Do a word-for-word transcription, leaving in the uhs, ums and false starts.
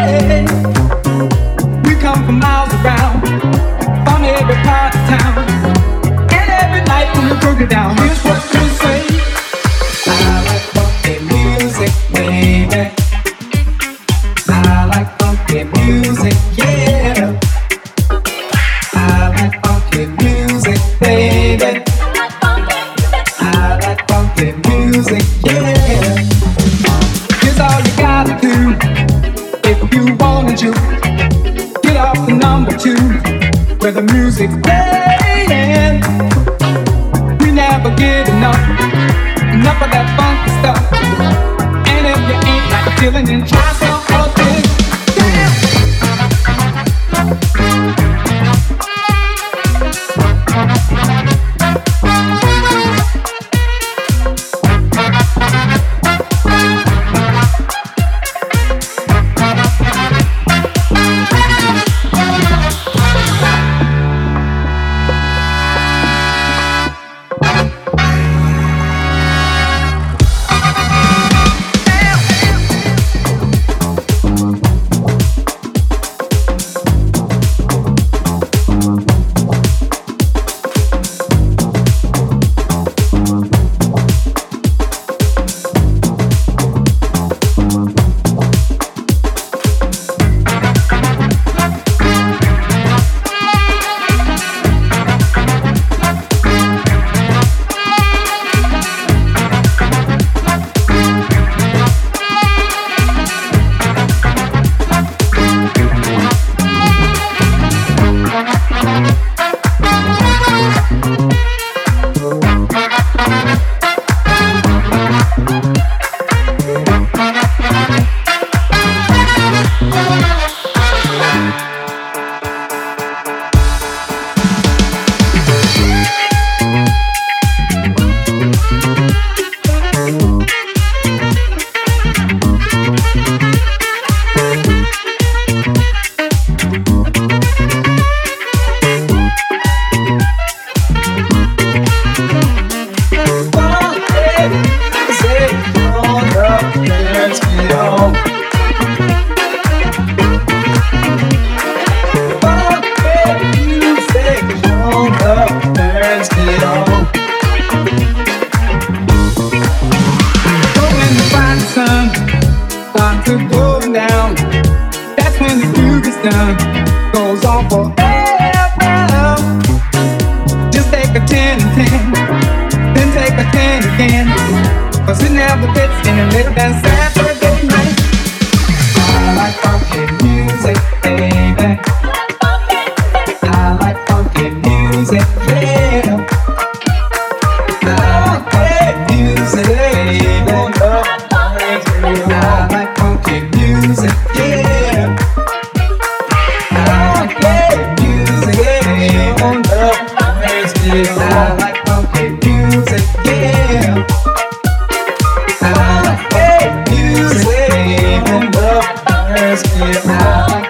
say. We come from miles around, from every part of town, and every night when we broke it down, here's what we say. I like funky music, baby. I like funky music, yeah. I like funky music, baby. I like funky music, yeah. Here's all you gotta do if you wanna to get off the number two where the music's playing. We never get enough, enough of that funky stuff. And if you ain't like feeling, then try some other thing. I like funky music, yeah. I like funky music, even love hurts me. I like